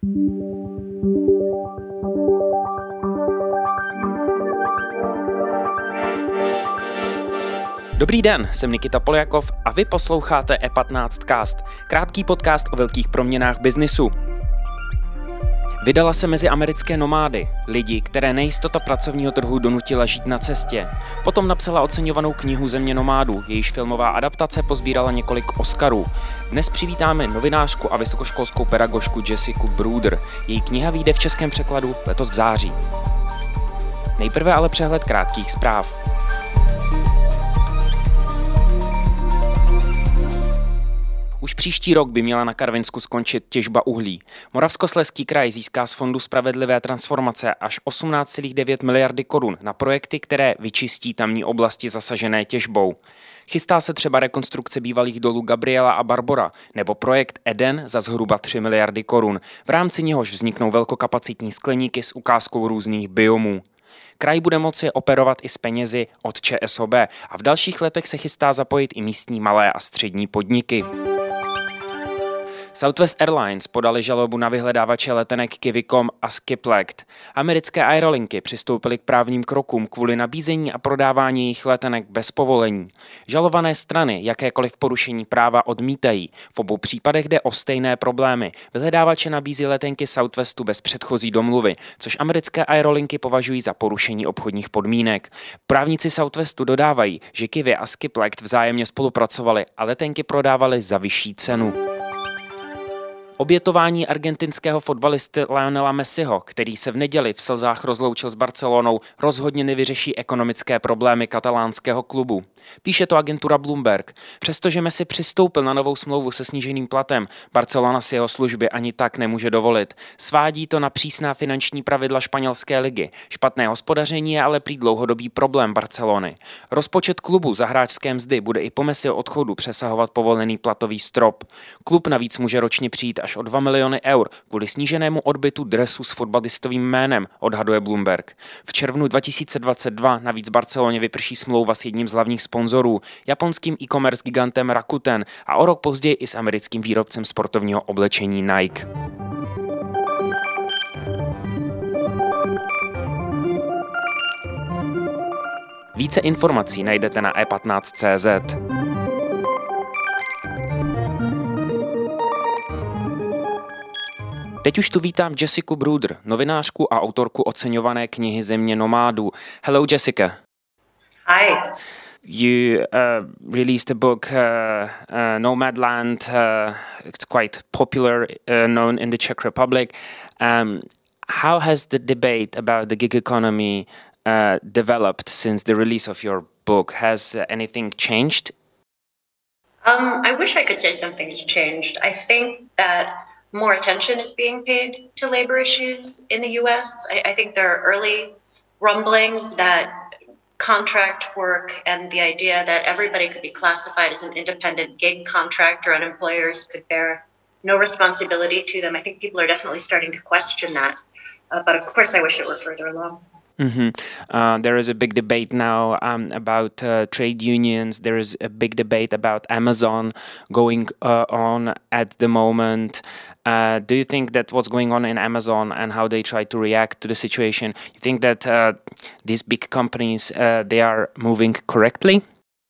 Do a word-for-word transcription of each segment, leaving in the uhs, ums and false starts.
Dobrý den, jsem Nikita Poljakov a vy posloucháte E patnáct Cast, krátký podcast o velkých proměnách biznisu. Vydala se mezi americké nomády, lidi, které nejistota pracovního trhu donutila žít na cestě. Potom napsala oceňovanou knihu Země nomádů, jejíž filmová adaptace pozbírala několik Oscarů. Dnes přivítáme novinářku a vysokoškolskou pedagožku Jessicu Bruder. Její kniha vyjde v českém překladu letos v září. Nejprve ale přehled krátkých zpráv. Už příští rok by měla na Karvinsku skončit těžba uhlí. Moravskoslezský kraj získá z Fondu spravedlivé transformace až osmnáct celá devět miliardy korun na projekty, které vyčistí tamní oblasti zasažené těžbou. Chystá se třeba rekonstrukce bývalých dolů Gabriela a Barbora nebo projekt Eden za zhruba tři miliardy korun, v rámci něhož vzniknou velkokapacitní skleníky s ukázkou různých biomů. Kraj bude moci operovat i s penězi od ČSOB a v dalších letech se chystá zapojit i místní malé a střední podniky. Southwest Airlines podali žalobu na vyhledávače letenek Kiwi tečka com a Skiplect. Americké aerolinky přistoupily k právním krokům kvůli nabízení a prodávání jejich letenek bez povolení. Žalované strany jakékoliv porušení práva odmítají. V obou případech jde o stejné problémy. Vyhledávače nabízí letenky Southwestu bez předchozí domluvy, což americké aerolinky považují za porušení obchodních podmínek. Právníci Southwestu dodávají, že Kiwi a Skiplect vzájemně spolupracovali a letenky prodávali za vyšší cenu. Obětování argentinského fotbalisty Lionela Messiho, který se v neděli v slzách rozloučil s Barcelonou, rozhodně nevyřeší ekonomické problémy katalánského klubu. Píše to agentura Bloomberg. Přestože Messi přistoupil na novou smlouvu se sníženým platem, Barcelona si jeho služby ani tak nemůže dovolit. Svádí to na přísná finanční pravidla španělské ligy. Špatné hospodaření je ale prý dlouhodobý problém Barcelony. Rozpočet klubu za hráčské mzdy bude i po Messiho odchodu přesahovat povolený platový strop. Klub navíc může ročně přijít až o dva miliony eur kvůli sníženému odbytu dresu s fotbalistovým jménem, odhaduje Bloomberg. V červnu dva tisíce dvacet dva navíc Barceloně vyprší smlouva s jedním z hlavních sponzorů, japonským e-commerce gigantem Rakuten a o rok později i s americkým výrobcem sportovního oblečení Nike. Více informací najdete na e patnáct tečka cé zet. Teď už tu vítám Jessicu Bruder, novinářku a autorku oceňované knihy Země nomádů. Hello, Jessica. Hi. You uh, released a book, uh, uh, Nomadland. Uh, it's quite popular, uh, known in the Czech Republic. Um, how has the debate about the gig economy uh, developed since the release of your book? Has uh, anything changed? Um, I wish I could say something's changed. I think that more attention is being paid to labor issues in the U S. I, I think there are early rumblings that contract work and the idea that everybody could be classified as an independent gig contractor and employers could bear no responsibility to them. I think people are definitely starting to question that. Uh, but of course, I wish it were further along. Mm-hmm. Uh, there is a big debate now um, about uh, trade unions. There is a big debate about Amazon going uh, on at the moment. Uh, do you think that what's going on in Amazon and how they try to react to the situation, you think that uh, these big companies, uh, they are moving correctly?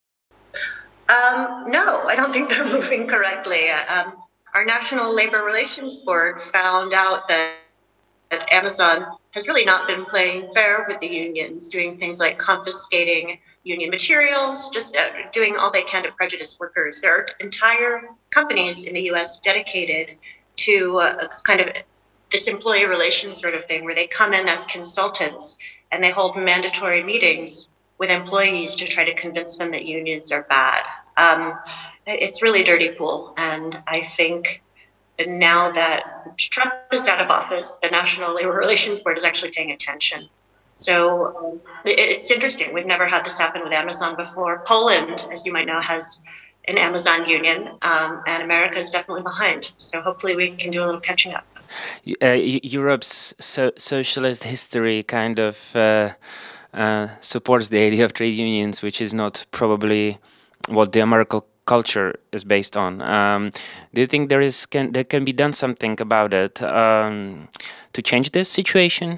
Um, no, I don't think they're moving correctly. Um, our National Labor Relations Board found out that that Amazon has really not been playing fair with the unions, doing things like confiscating union materials, just uh, doing all they can to prejudice workers. There are entire companies in the U S dedicated to uh, kind of this employee relations sort of thing, where they come in as consultants and they hold mandatory meetings with employees to try to convince them that unions are bad. Um, it's really a dirty pool, and I think and now that Trump is out of office, the National Labor Relations Board is actually paying attention. So um, it, it's interesting. We've never had this happen with Amazon before. Poland, as you might know, has an Amazon union, um, and America is definitely behind. So hopefully we can do a little catching up. Uh, Europe's so- socialist history kind of uh, uh, supports the idea of trade unions, which is not probably what the American culture is based on. Um, do you think there is can there can be done something about it um, to change this situation?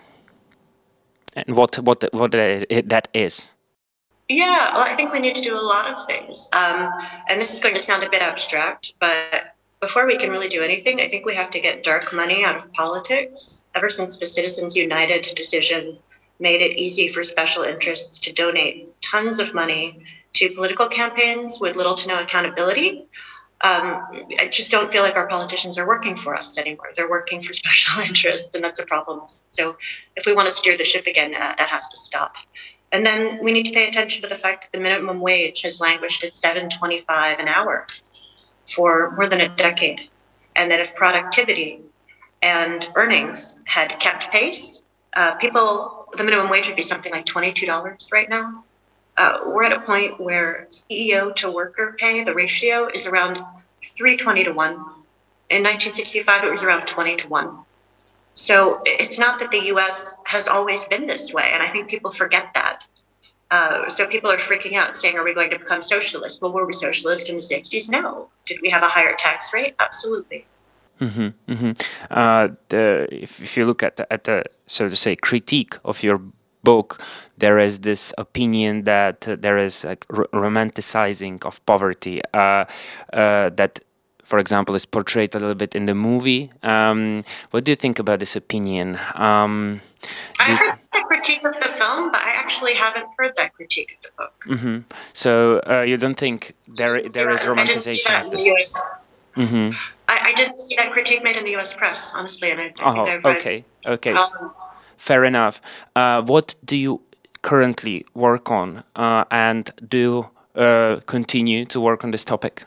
And what what what it, that is? Yeah, well, I think we need to do a lot of things. Um, and this is going to sound a bit abstract, but before we can really do anything, I think we have to get dark money out of politics. Ever since the Citizens United decision made it easy for special interests to donate tons of money to political campaigns with little to no accountability, um, I just don't feel like our politicians are working for us anymore. They're working for special interests, and that's a problem. So if we want to steer the ship again, uh, that has to stop. And then we need to pay attention to the fact that the minimum wage has languished at seven twenty-five an hour for more than a decade. And that if productivity and earnings had kept pace, uh, people, the minimum wage would be something like twenty-two dollars right now. Uh, we're at a point where C E O to worker pay, the ratio is around three twenty to one. In nineteen sixty-five, it was around twenty to one. So it's not that the U S has always been this way, and I think people forget that. Uh, so people are freaking out, saying, are we going to become socialist? Well, were we socialist in the sixties? No. Did we have a higher tax rate? Absolutely. Mm-hmm, mm-hmm. Uh, the, if, if you look at the, at the, so to say, critique of your book, there is this opinion that uh, there is like r- romanticizing of poverty, uh, uh, that, for example, is portrayed a little bit in the movie. Um, what do you think about this opinion? Um, I heard the critique of the film, but I actually haven't heard that critique of the book. Mm-hmm. So uh, you don't think there there is romanticization of this? Mm-hmm. I, I didn't see that critique made in the U S press, honestly. And I, I oh, think read, okay, okay, um, fair enough. Uh, what do you currently work on, uh, and do you uh, continue to work on this topic?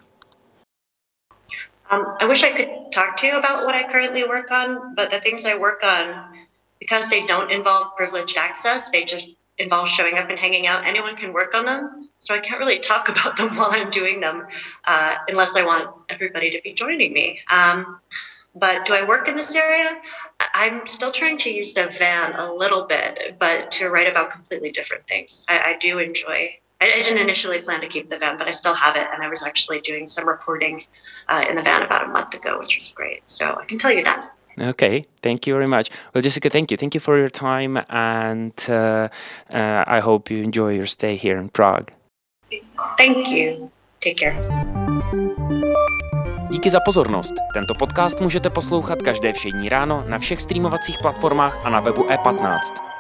Um, I wish I could talk to you about what I currently work on, but the things I work on, because they don't involve privileged access, they just involve showing up and hanging out. Anyone can work on them, so I can't really talk about them while I'm doing them, uh, unless I want everybody to be joining me. Um, but do I work in this area? I'm still trying to use the van a little bit, but to write about completely different things. I, I do enjoy. I, I didn't initially plan to keep the van, but I still have it, and I was actually doing some reporting uh, in the van about a month ago, which was great. So I can tell you that. Okay, thank you very much. Well, Jessica, thank you. Thank you for your time, and uh, uh, I hope you enjoy your stay here in Prague. Thank you. Take care. Díky za pozornost. Tento podcast můžete poslouchat každé všední ráno na všech streamovacích platformách a na webu E patnáct.